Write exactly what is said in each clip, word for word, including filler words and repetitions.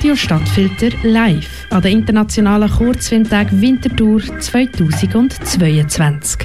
Radio Stadtfilter live an den Internationalen Kurzfilmtag Winterthur zweitausendzweiundzwanzig.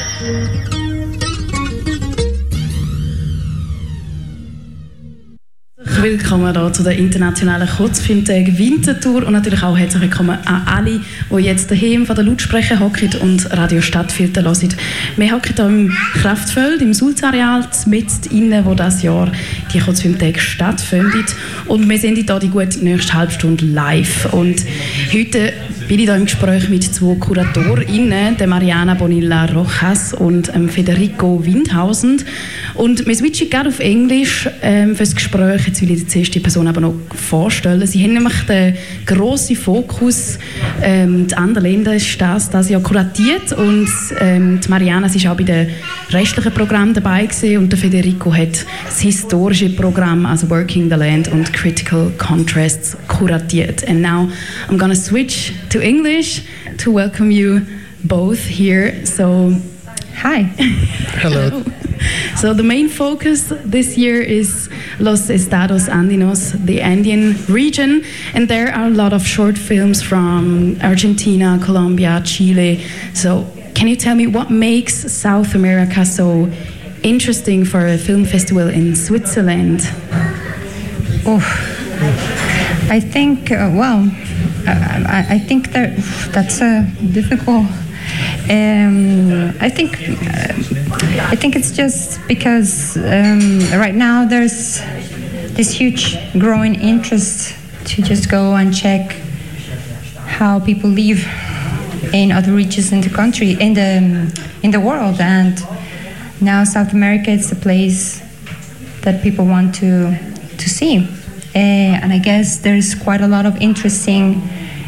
Willkommen hier zu den Internationalen Kurzfilmtagen Winterthur und natürlich auch herzlich willkommen an alle, die jetzt daheim von den Lautsprechern hocken und Radio Stadtfilter hören. Wir hocken hier im Kraftfeld, im Sulzareal, mitten innen, wo das Jahr die Kurzfilmtage stattfinden. Und wir sind hier die gute nächste halbe Stunde live. Und heute bin ich hier im Gespräch mit zwei KuratorInnen, der Mariana Bonilla Rojas und ähm, Federico Windhausen. Und wir switchen gerade auf Englisch ähm, für das Gespräch. Jetzt will ich die erste Person aber noch vorstellen. Sie haben nämlich den grossen Fokus, ähm, die anderen Länder ist das, das ja kuratiert. Und ähm, die Mariana ist auch bei den restlichen Programmen dabei gewesen. Und der Federico hat das historische Programm, also Working the Land und Critical Contrasts, kuratiert. And now I'm gonna switch to English to welcome you both here. So, hi. Hello. So the main focus this year is Los Estados Andinos, the Andean region, and there are a lot of short films from Argentina, Colombia, Chile. So can you tell me what makes South America so interesting for a film festival in Switzerland? Oh, I think, uh, well, I, I think that that's a difficult. Um, I think uh, I think it's just because um, right now there's this huge growing interest to just go and check how people live in other regions in the country, in the in the world, and now South America is the place that people want to to see, uh, and I guess there's quite a lot of interesting.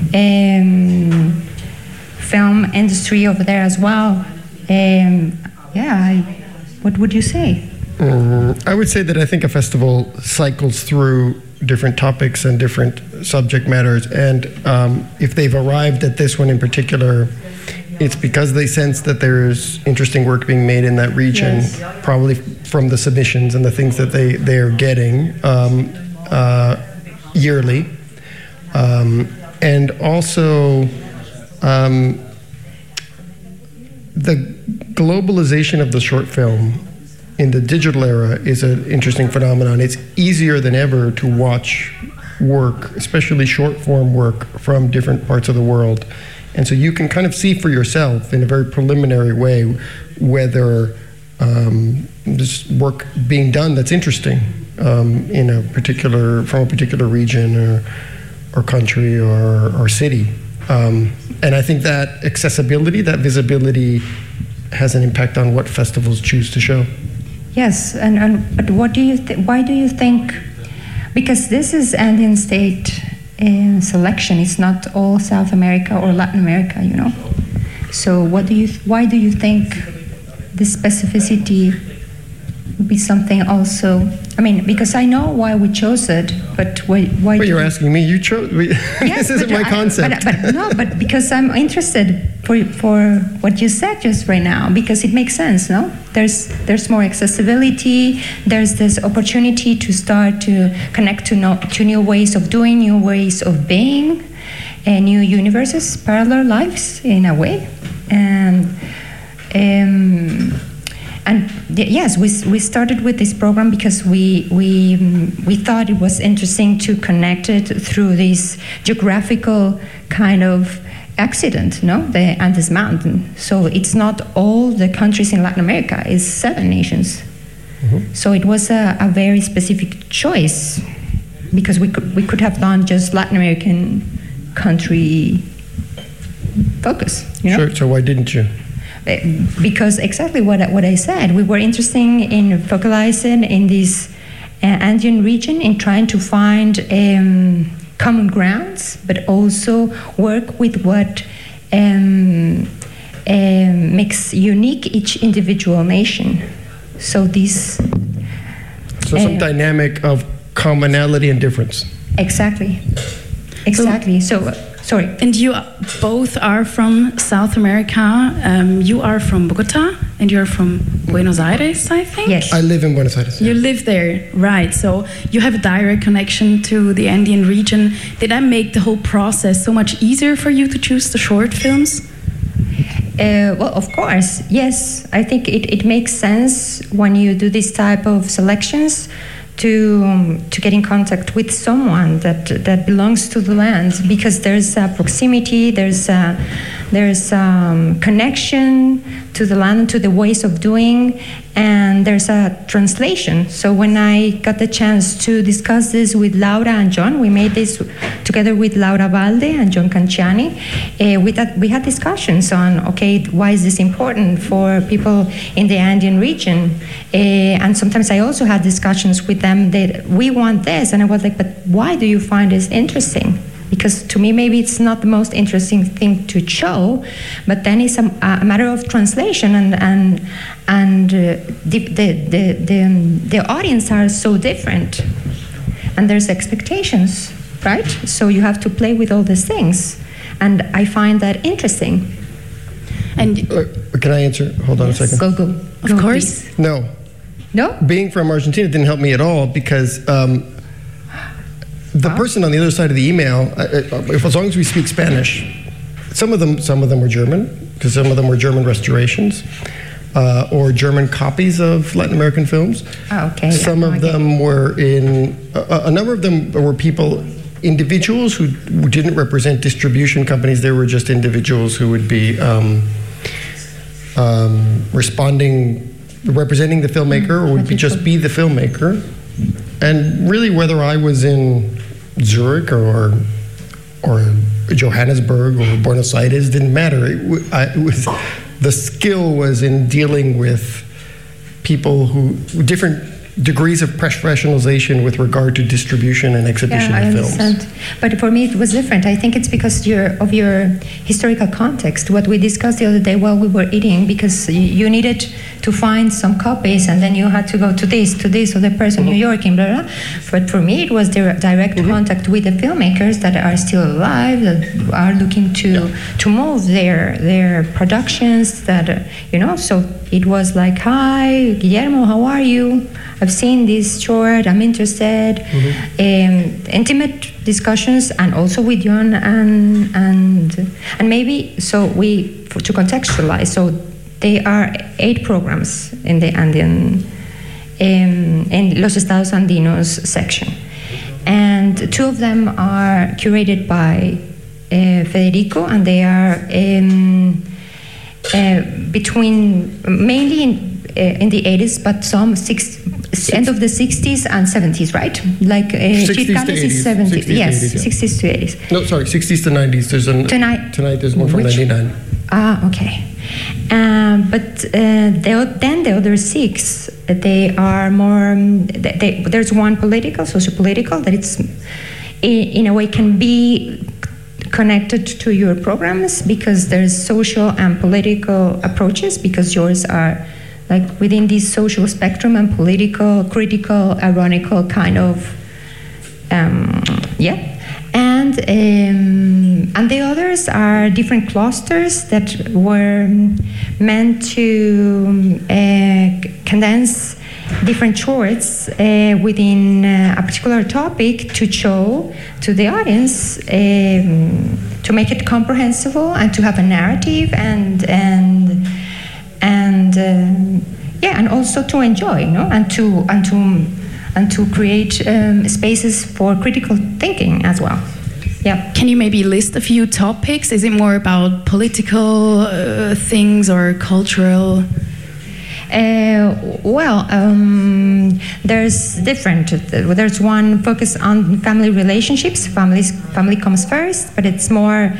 Um, film industry over there as well. Um, yeah, I, what would you say? Mm, I would say that I think a festival cycles through different topics and different subject matters, and um, if they've arrived at this one in particular, it's because they sense that there's interesting work being made in that region, yes. Probably from the submissions and the things that they, they're getting um, uh, yearly. Um, and also, Um, the globalization of the short film in the digital era is an interesting phenomenon. It's easier than ever to watch work, especially short form work from different parts of the world. And so you can kind of see for yourself in a very preliminary way whether um, there's work being done that's interesting um, in a particular, from a particular region or, or country or, or city. Um, and I think that accessibility, that visibility, has an impact on what festivals choose to show. Yes, and, and but what do you th- why do you think? Because this is Andean state uh, selection. It's not all South America or Latin America, you know. So what do you? Th- why do you think this specificity would be something also? I mean, because I know why we chose it, but why? why well, you're you... asking me. You chose. We, Yes, this isn't my I, concept. But, but no, but because I'm interested for for what you said just right now, because it makes sense. No, there's there's more accessibility. There's this opportunity to start to connect to no, to new ways of doing, new ways of being, and new universes, parallel lives in a way, and. Um, And yes, we we started with this program because we we we thought it was interesting to connect it through this geographical kind of accident, no, the Andes Mountain. So it's not all the countries in Latin America; it's seven nations. Mm-hmm. So it was a, a very specific choice because we could we could have done just Latin American country focus. You know? Sure. So why didn't you? Because exactly what what I said, we were interested in focalizing in this uh, Andean region, in trying to find um, common grounds, but also work with what um, um, makes unique each individual nation. So this. So some uh, dynamic of commonality and difference. Exactly. Exactly. So. Sorry. And you both are from South America. Um, you are from Bogota, and you're from Buenos Aires, I think? Yes. I live in Buenos Aires. You live there, right. So you have a direct connection to the Andean region. Did that make the whole process so much easier for you to choose the short films? Uh, well, of course, yes. I think it, it makes sense when you do this type of selections to um, to get in contact with someone that that belongs to the land, because there's a proximity, there's a, there's um, connection to the land, to the ways of doing, and there's a translation. So when I got the chance to discuss this with Laura and John, we made this together with Laura Valde and John Canciani. Uh, we, th- we had discussions on, okay, why is this important for people in the Andean region? Uh, and sometimes I also had discussions with them that we want this, and I was like, but why do you find this interesting? Because to me, maybe it's not the most interesting thing to show, but then it's a, a matter of translation, and and and uh, the, the the the um, the audience are so different, and there's expectations, right? So you have to play with all these things, and I find that interesting. And Uh, can I answer? Hold on Yes. a second. Go go. Of Go, course. please. No. No. Being from Argentina didn't help me at all, because um, the Wow. person on the other side of the email, uh, uh, if, as long as we speak Spanish, some of them, some of them were German, because some of them were German restorations uh, or German copies of Latin American films. Oh, okay. Some Yeah, of I get them were in. A, a number of them were people, individuals who didn't represent distribution companies. They were just individuals who would be um, um, responding, representing the filmmaker, or would be just be the filmmaker. And really, whether I was in Zurich or or Johannesburg or Buenos Aires didn't matter. It, w- I, it was the skill was in dealing with people who different degrees of professionalization with regard to distribution and exhibition Yeah, I of films. understand. But for me, it was different. I think it's because your, of your historical context. What we discussed the other day while we were eating, because you, you needed to find some copies, and then you had to go to this, to this other person, Mm-hmm. New York, and blah, blah. But for me, it was direct, direct Mm-hmm. contact with the filmmakers that are still alive, that are looking to Yeah. to move their their productions. That uh, you know, so it was like, "Hi, Guillermo, how are you? I've seen this short. I'm interested." Um, intimate discussions, and also with John and and and maybe so we for, to contextualize. So there are eight programs in the Andean um, in Los Estados Andinos section, and two of them are curated by uh, Federico, and they are um, uh, between mainly in uh, in the eighties, but some six, end of the sixties and seventies, right? Like uh, sixties to Chircalis is eighties. seventies, sixties to yes, eighties, yeah. sixties to eighties. No, sorry, sixties to nineties. There's an Tonight- Tonight there's one from Which- ninety-nine. Ah, okay. Um, but uh, the, then the other six, they are more. Um, they, they, there's one political, socio-political, that it's in, in a way can be connected to your programs, because there's social and political approaches, because yours are like within this social spectrum and political, critical, ironical kind of. Um, yeah. And um, and the others are different clusters that were meant to uh, condense different shorts uh, within uh, a particular topic to show to the audience, um, to make it comprehensible and to have a narrative and and and um, yeah, and also to enjoy, no, and to and to. and to create um, spaces for critical thinking as well. Yeah. Can you maybe list a few topics? Is it more about political uh, things or cultural? Uh, well, um, there's different. There's one focus on family relationships. Families, family comes first, but it's more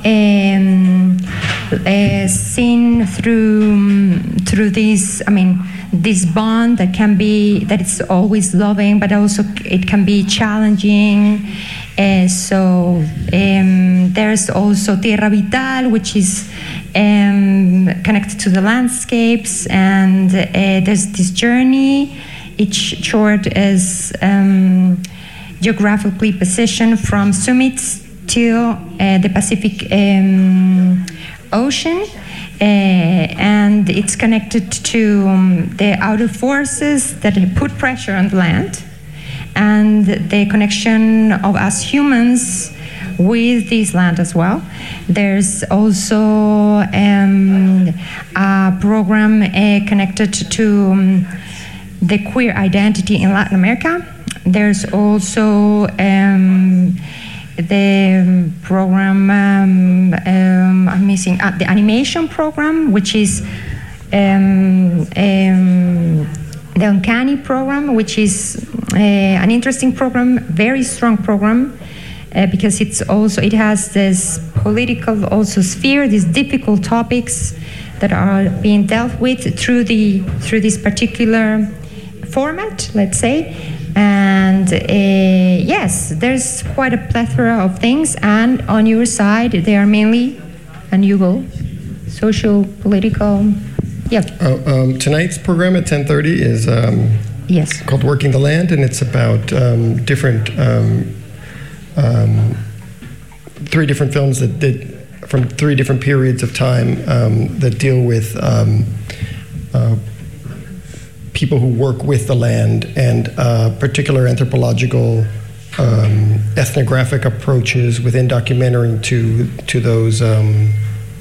um, uh, seen through through this. I mean, this bond that can be that it's always loving, but also it can be challenging. Uh, so um, there's also Tierra Vital, which is um, connected to the landscapes, and uh, there's this journey. Each short is um, geographically positioned from summits till uh, the Pacific um, Ocean. Uh, and it's connected to um, the outer forces that put pressure on the land, and the connection of us humans with this land as well. There's also um, a program uh, connected to um, the queer identity in Latin America. There's also um, the program, um, um, I'm missing, uh, the animation program, which is um, um, the Uncanny program, which is uh, an interesting program, very strong program, uh, because it's also, it has this political also sphere, these difficult topics that are being dealt with through the through this particular format, let's say. And uh, yes, there's quite a plethora of things, and on your side, they are mainly, and you will, social, political, yeah. Uh, um, tonight's program at ten thirty is um, yes. called Working the Land, and it's about um, different, um, um, three different films that did, from three different periods of time um, that deal with um, uh, people who work with the land and uh, particular anthropological, um, ethnographic approaches within documentary to to those um,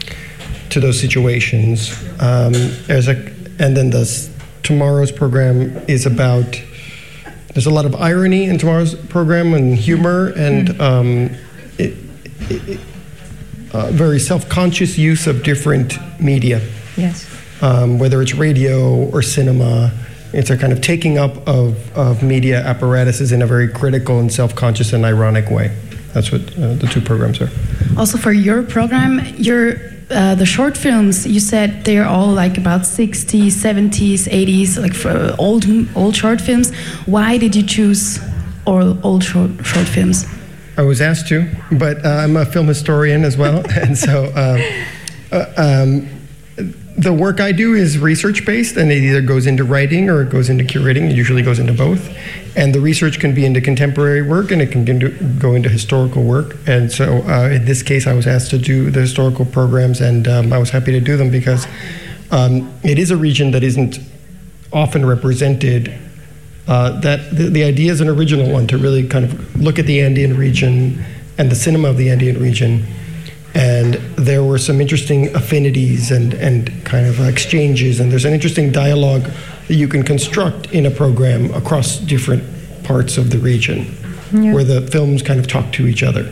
to those situations. Um, there's a, and then this tomorrow's program is about. There's a lot of irony in tomorrow's program and humor and mm. um, it, it, it, uh, very self-conscious use of different media. Yes. Um, whether it's radio or cinema. It's a kind of taking up of, of media apparatuses in a very critical and self-conscious and ironic way. That's what uh, the two programs are. Also for your program, your uh, the short films, you said they're all like about sixties, seventies, eighties, like for old old short films. Why did you choose all old short, short films? I was asked to, but uh, I'm a film historian as well, and so uh, uh, um, the work I do is research-based, and it either goes into writing or it goes into curating. It usually goes into both. And the research can be into contemporary work, and it can go into historical work. And so uh, in this case, I was asked to do the historical programs, and um, I was happy to do them because um, it is a region that isn't often represented. Uh, that the, the idea is an original one, to really kind of look at the Andean region and the cinema of the Andean region. And there were some interesting affinities and, and kind of exchanges, and there's an interesting dialogue that you can construct in a program across different parts of the region, yeah. where the films kind of talk to each other.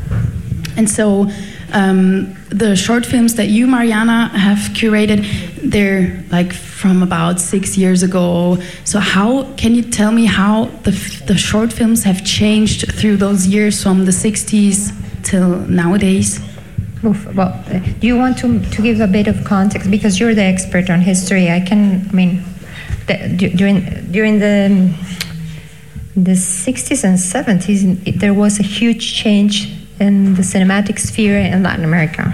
And so um, the short films that you, Mariana, have curated, they're like from about six years ago. So how can you tell me how the, the short films have changed through those years from the sixties till nowadays? Well, do you want to, to give a bit of context, because you're the expert on history? I can, I mean, the, during during the the sixties and seventies, there was a huge change in the cinematic sphere in Latin America,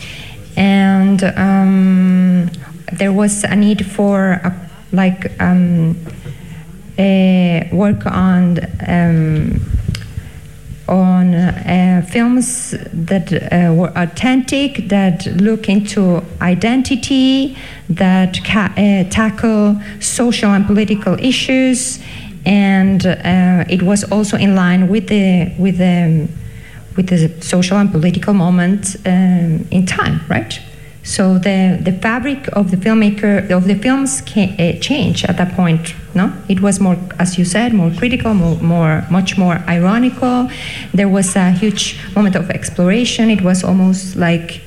and um, there was a need for a, like um, a work on. Um, on uh, films that uh, were authentic, that look into identity, that ca- uh, tackle social and political issues, and uh, it was also in line with the with the with the social and political moment um, in time, right? So the the fabric of the filmmaker of the films can, uh, changed at that point. No, it was more, as you said, more critical, more, more much more ironical. There was a huge moment of exploration. It was almost like,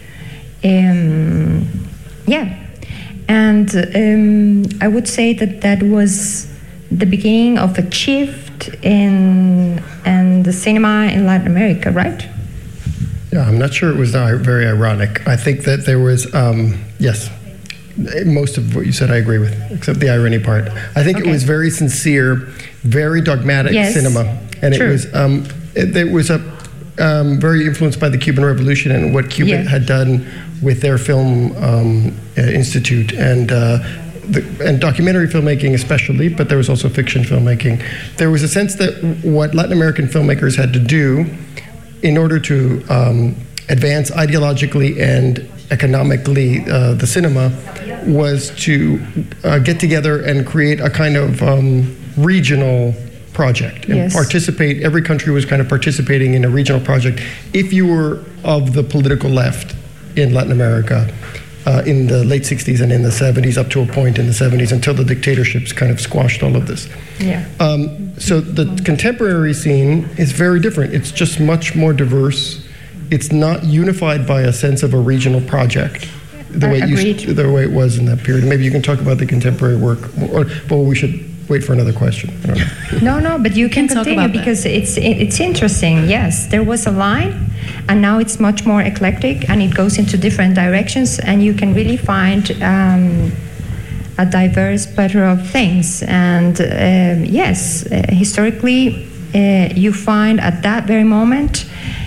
um, yeah, and um, I would say that that was the beginning of a shift in in the cinema in Latin America, right? Yeah, I'm not sure it was very ironic. I think that there was, um, yes, most of what you said I agree with, except the irony part. I think okay. It was very sincere, very dogmatic yes. cinema. And True. it was um, it, it was a, um, very influenced by the Cuban Revolution and what Cuba yeah. had done with their film um, uh, institute and uh, the, and documentary filmmaking especially, but there was also fiction filmmaking. There was a sense that what Latin American filmmakers had to do in order to um, advance ideologically and economically uh, the cinema, was to uh, get together and create a kind of um, regional project and Yes. participate. Every country was kind of participating in a regional project. If you were of the political left in Latin America uh, in the late sixties and in the seventies, up to a point in the seventies, until the dictatorships kind of squashed all of this. Yeah. Um, so the contemporary scene is very different. It's just much more diverse. It's not unified by a sense of a regional project, the Uh, way it agreed. used, the way it was in that period. Maybe you can talk about the contemporary work, or well, we should wait for another question. I don't know. No, no, but you can, can talk continue about that. because it's it, it's interesting. Yes, there was a line, and now it's much more eclectic, and it goes into different directions, and you can really find um, a diverse pattern of things. And um, yes, uh, historically, uh, you find at that very moment.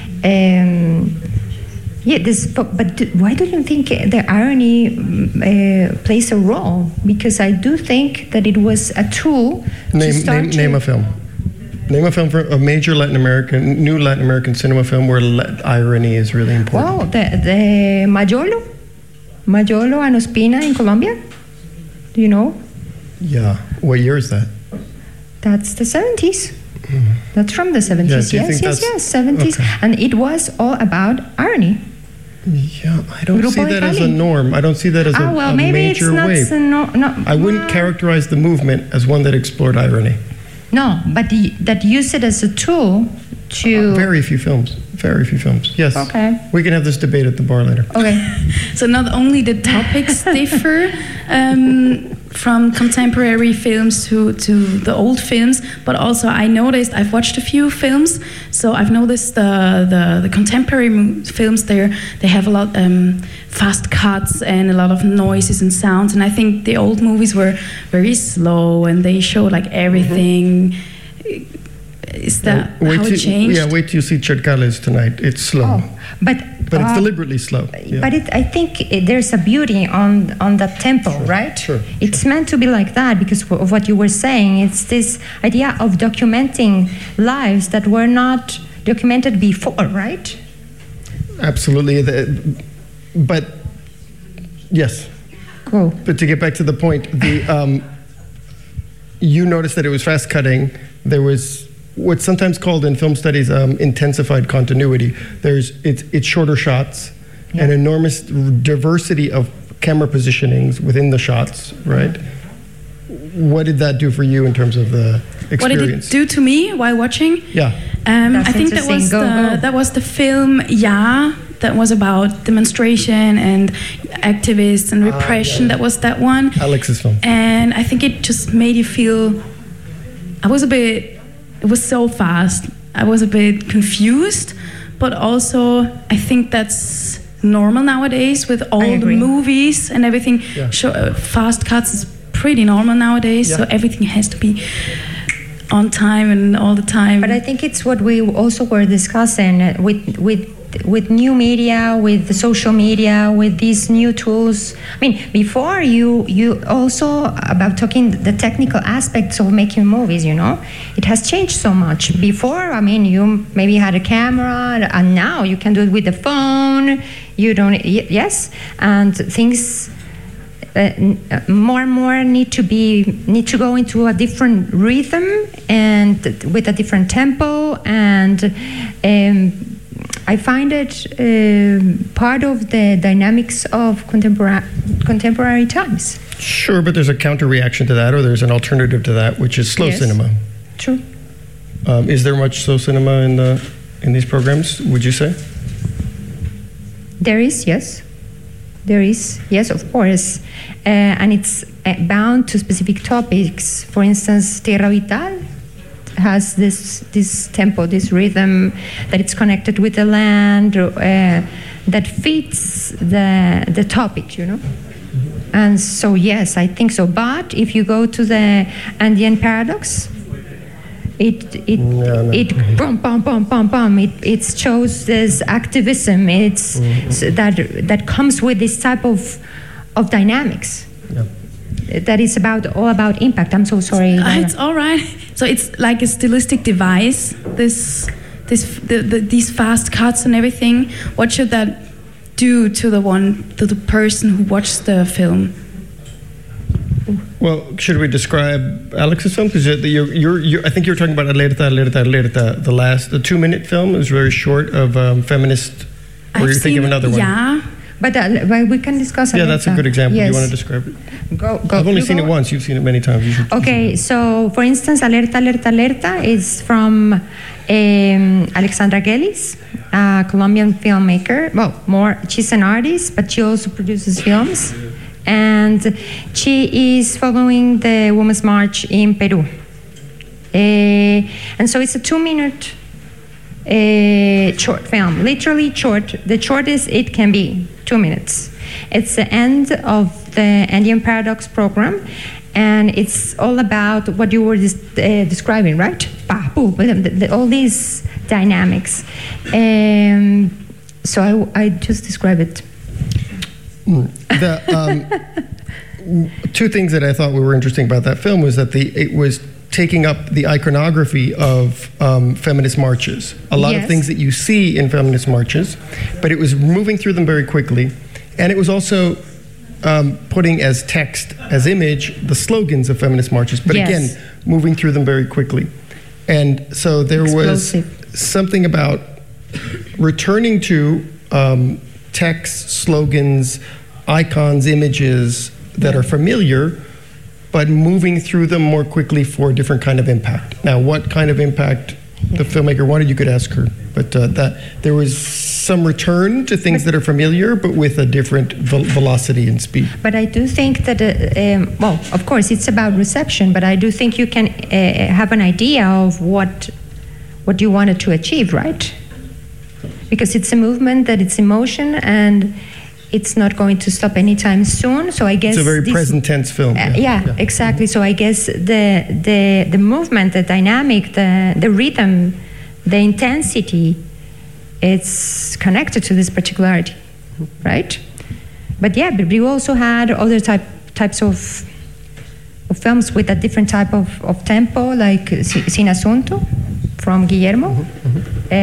Um, yeah, this. But, but do, why do you think the irony uh, plays a role? Because I do think that it was a tool to Name, start name, to name a film. Name a film for a major Latin American, new Latin American cinema film where le- irony is really important. Well, the, the Mayolo, Mayolo and Ospina in Colombia. Do you know? Yeah. What year is that? That's the seventies. That's from the seventies. Yeah, do you yes, think yes, that's- yes, seventies. okay. And it was all about irony. Yeah, I don't Grupo see that as a Italy. norm. I don't see that as Ah, a, well, a maybe it's major not. wave. so no, no, I wouldn't well, characterize the movement as one that explored irony. No, but the, that used it as a tool to. Very few films. Very few films. Yes. Okay. We can have this debate at the bar later. Okay. So not only the topics differ um, from contemporary films to, to the old films, but also I noticed, I've watched a few films, so I've noticed the, the, the contemporary mo- films there, they have a lot um, fast cuts and a lot of noises and sounds, and I think the old movies were very slow and they show like everything. Is that wait how till, it changed? Yeah, wait till you see Chercales tonight. It's slow. Oh, but But it's uh, deliberately slow. Yeah. But it, I think it, there's a beauty on on that tempo, right? sure, It's meant to be like that because of what you were saying. It's this idea of documenting lives that were not documented before, right? Absolutely. The- But yes. Go. But to get back to the point, the um, you noticed that it was fast cutting. There was what's sometimes called in film studies um, intensified continuity. There's it's it's shorter shots, Yeah. an enormous diversity of camera positionings within the shots. Right. What did that do for you in terms of the experience? What did it do to me while watching? Yeah. Um, That's I think that interesting. was Go, the go. that was the film Ja, that was about demonstration and activists and repression. That was that one. Alex's film. And I think it just made you feel. I was a bit. It was so fast. I was a bit confused, but also I think that's normal nowadays with all the agree. movies and everything. Yeah. Show, uh, fast cuts is pretty normal nowadays, so Yeah. everything has to be on time and all the time. But I think it's what we also were discussing uh, with with with new media, with the social media, with these new tools. I mean, before you you also about talking the technical aspects of making movies. You know, it has changed so much. Before, I mean, you maybe had a camera, and now you can do it with the phone. You don't. y- Yes, and things. Uh, n- uh, more and more need to be need to go into a different rhythm and with a different tempo, and um, I find it um part of the dynamics of contemporary contemporary times. Sure, but there's a counter reaction to that, or there's an alternative to that, which is slow Yes. cinema. True. Um, is there much slow cinema in the in these programs? Would you say? There is, yes. There is, yes, of course. Uh, and it's uh, bound to specific topics. For instance, Tierra Vital has this this tempo, this rhythm that it's connected with the land, uh, that fits the the topic, you know. And so, yes, I think so. But if you go to the Andean Paradox, it it No, no. it pum pum pum pum pum. It it shows this activism. It's s- that that comes with this type of of dynamics. Yeah. That is about all about impact. I'm so sorry. Uh, Dana. it's all right. So it's like a stylistic device. This this the, the, these fast cuts and everything, what should that do to the one to the person who watches the film? Well, should we describe Alex's film? Because you're, you're, you're, I think you're talking about Alerta, Alerta, Alerta, the last, the two-minute film. It was very short of um, feminist. Or you're thinking of another one? Yeah. But, uh, but we can discuss. Yeah, that's a good example. Yes. Do you want to describe it? Go, go. I've only you seen go. it once. You've seen it many times. You should. Okay, so for instance, Alerta, Alerta, Alerta is from um, Alexandra Gelis, a Colombian filmmaker. Well, more, she's an artist, but she also produces films. And she is following the Women's March in Peru. Uh, and so it's a two-minute uh, short film, literally short. The shortest it can be, two minutes. It's the end of the Andean Paradox program, and it's all about what you were dis- uh, describing, right? All these dynamics. Um, so I, I just describe it. The, um, two things that I thought were interesting about that film was that the it was taking up the iconography of um, feminist marches. A lot Yes. of things that you see in feminist marches, but it was moving through them very quickly. And it was also um, putting as text, as image, the slogans of feminist marches, but Yes. again, moving through them very quickly. And so there Explosive. was something about returning to um, texts, slogans, icons, images that are familiar, but moving through them more quickly for a different kind of impact. Now, what kind of impact the filmmaker wanted, you could ask her. But uh, that there was some return to things that are familiar, but with a different ve- velocity and speed. But I do think that, uh, um, well, of course, it's about reception, but I do think you can uh, have an idea of what what you wanted to achieve, right? Because it's a movement that it's emotion and it's not going to stop anytime soon. So I guess It's a very this- present tense film. Uh, yeah, yeah. exactly. So I guess the the the movement, the dynamic, the the rhythm, the intensity, it's connected to this particularity, right? But yeah, but we also had other type types of of films with a different type of, of tempo, like Si- Sin Asunto from Guillermo, uh,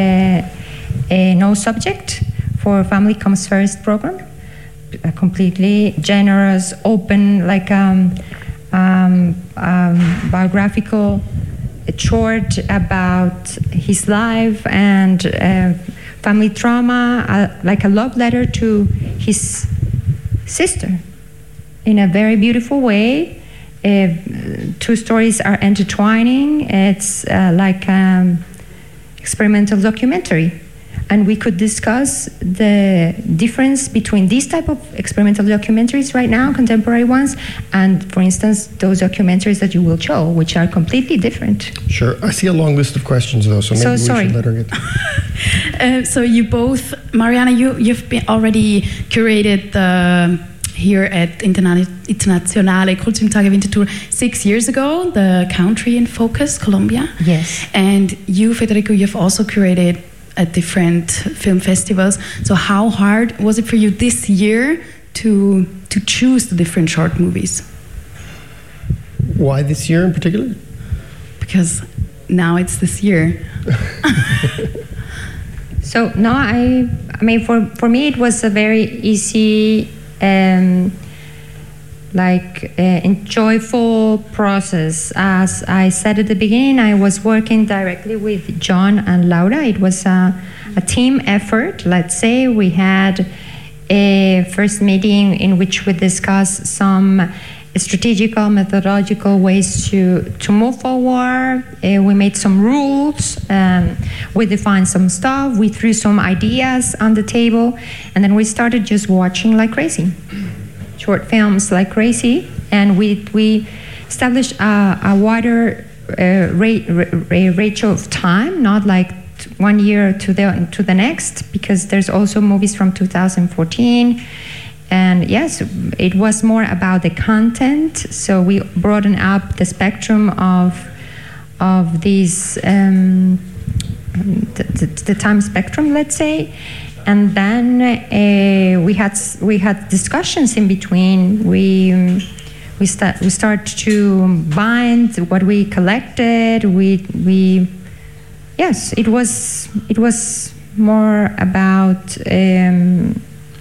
uh, No Subject for Family Comes First program. A completely generous, open, like um, um, um, biographical short about his life and uh, family trauma, uh, like a love letter to his sister in a very beautiful way. Uh, two stories are intertwining. It's uh, like um, experimental documentary. And we could discuss the difference between these type of experimental documentaries right now, contemporary ones, and, for instance, those documentaries that you will show, which are completely different. Sure. I see a long list of questions, though, so maybe So we sorry. should let her get Uh, so you both, Mariana, you you've been already curated the here at Interna- Internationale Kurzfilmtage Winterthur six years ago, the country in focus, Colombia. Yes. And you, Federico, you've also curated at different film festivals. So how hard was it for you this year to to choose the different short movies? Why this year in particular? Because now it's this year. So no, I, I mean, for, for me, it was a very easy, um, like, uh, enjoyable process. As I said at the beginning, I was working directly with John and Laura. It was a, a team effort. Let's say we had a first meeting in which we discussed some strategical, methodological ways to, to move forward. Uh, we made some rules, um, we defined some stuff, we threw some ideas on the table, and then we started just watching like crazy. Short films like crazy, and we, we established a, a wider uh, rate, ra- ratio of time, not like one year to the, to the next, because there's also movies from two thousand fourteen. And yes, it was more about the content. So we broadened up the spectrum of of these um, the, the, the time spectrum, let's say. And then uh, we had we had discussions in between. We um, we start we start to bind what we collected. We we yes, it was it was more about um,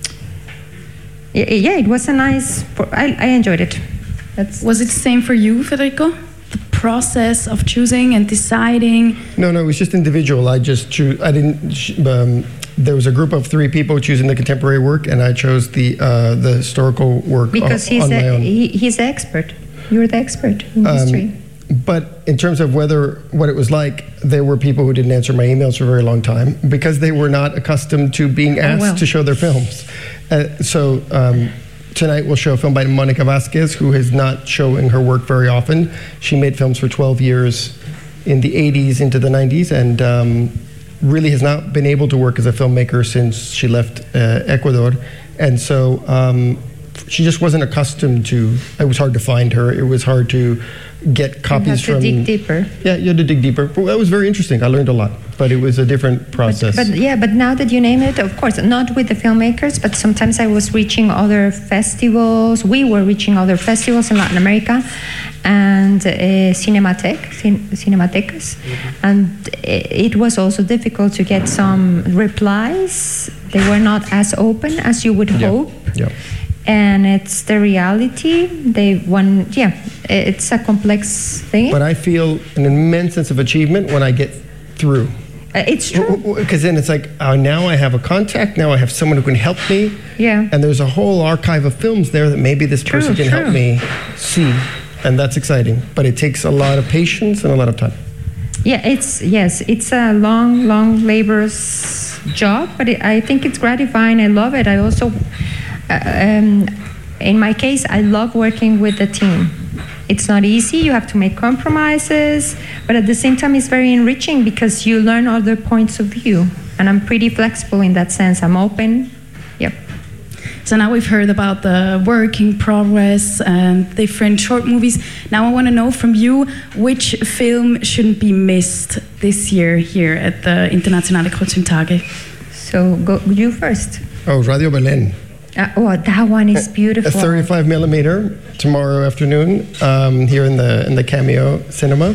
yeah, it was a nice. I, I enjoyed it. That's was it the same for you, Federico? The process of choosing and deciding? No, no, it was just individual. I just choose. I didn't. Um, there was a group of three people choosing the contemporary work, and I chose the uh, the historical work because on, he's on a, my own. He, he's the expert. You're the expert in Um, history. But in terms of whether what it was like, there were people who didn't answer my emails for a very long time because they were not accustomed to being asked well. to show their films. Uh, so um, tonight we'll show a film by Monica Vasquez, who is not showing her work very often. She made films for twelve years in the eighties into the nineties, and um, really has not been able to work as a filmmaker since she left uh, Ecuador. And so um, she just wasn't accustomed to, it was hard to find her. It was hard to get copies you have to from. dig deeper. Yeah, you had to dig deeper. Well, that was very interesting. I learned a lot, but it was a different process. But, but yeah, but now that you name it, of course, not with the filmmakers, but sometimes I was reaching other festivals. We were reaching other festivals in Latin America and uh, Cinematec, cin- Cinematecas. Mm-hmm. And it was also difficult to get some replies. They were not as open as you would Yeah. hope. Yeah. And it's the reality. They want, yeah, it's a complex thing. But I feel an immense sense of achievement when I get through. Uh, it's true. Because then it's like, oh, now I have a contact, now I have someone who can help me. Yeah. And there's a whole archive of films there that maybe this True, person can true. help me see. And that's exciting. But it takes a lot of patience and a lot of time. Yeah, it's yes, it's a long, long, laborious job, but it, I think it's gratifying. I love it. I also, uh, um, in my case, I love working with the team. It's not easy. You have to make compromises, but at the same time, it's very enriching because you learn other points of view. And I'm pretty flexible in that sense. I'm open. Yep. So now we've heard about the work in progress and different short movies. Now I want to know from you which film shouldn't be missed this year here at the Internationale Kurzfilmtage. So go you first. Oh, Radio Belén. Uh, oh, that one is beautiful. A thirty-five millimeter tomorrow afternoon um, here in the in the Cameo Cinema.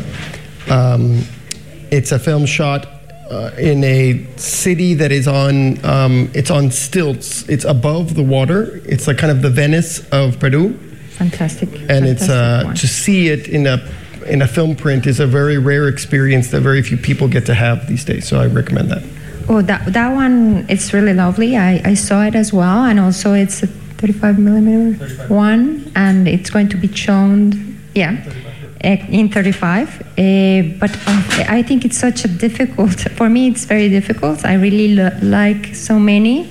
Um, it's a film shot uh, in a city that is on um, it's on stilts. It's above the water. It's like kind of the Venice of Peru. Fantastic. And it's uh, one. to see it in a in a film print is a very rare experience that very few people get to have these days. So I recommend that. Oh, that that one, it's really lovely. I, I saw it as well, and also it's a thirty-five millimeter one, and it's going to be shown, yeah, in thirty-five. Uh, but uh, I think it's such a difficult, for me it's very difficult. I really lo- like so many.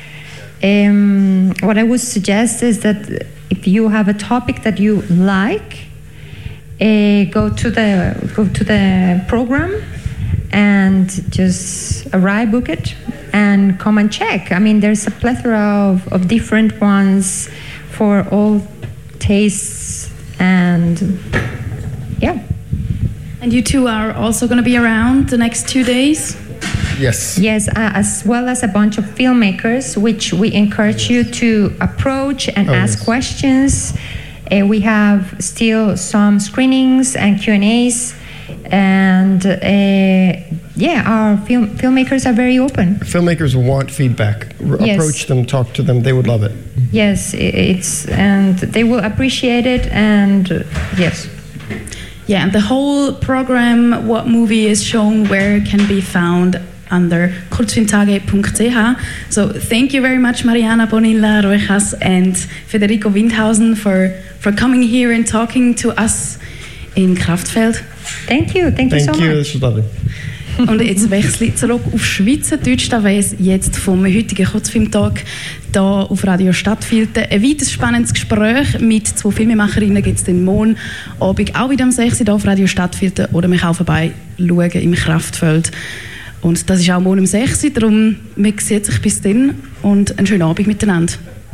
Um, what I would suggest is that if you have a topic that you like, uh, go to the go to the program and just arrive, book it, and come and check. I mean, there's a plethora of, of different ones for all tastes, and yeah. And you two are also going to be around the next two days? Yes. Yes, uh, as well as a bunch of filmmakers, which we encourage you to approach and Oh, ask yes. questions. Uh, we have still some screenings and Q and A's. And uh, yeah, our film filmmakers are very open. Filmmakers want feedback. R- Yes. Approach them, talk to them. They would love it. Yes, i- it's and they will appreciate it. And uh, yes, Yeah, and the whole program, what movie is shown, where can be found under kurzfilmtage dot c h. So thank you very much, Mariana Bonilla Rojas and Federico Windhausen, for, for coming here and talking to us in Kraftfeld. thank you, thank you Thank so you. much. This was lovely. Und jetzt wechsle ich zurück auf Schweizerdeutsch, da weiss jetzt vom heutigen Kurzfilmtag hier auf Radio Stadtfilter. Ein weiteres spannendes Gespräch mit zwei Filmemacherinnen gibt es den morgen Abend auch wieder um sechs Uhr hier auf Radio Stadtfilter oder man kann vorbei schauen im Kraftfeld. Und das ist auch morgen um sechs Uhr, darum man sieht sich bis dann und einen schönen Abend miteinander.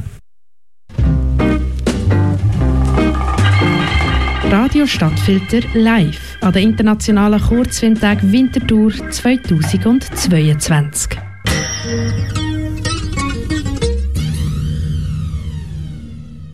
Radio Stadtfilter live an der Internationalen Kurzfilmtag Winterthur zweitausendzweiundzwanzig.